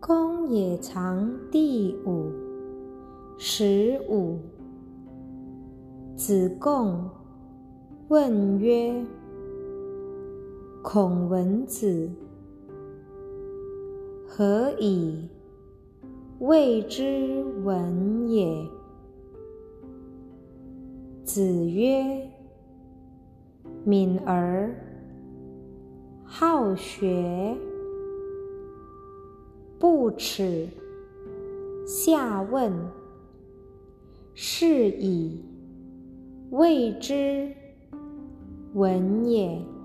公冶长第五15。子贡问曰：孔文子，何以谓之文也？子曰：敏而好学，不耻下问，是以谓之文也。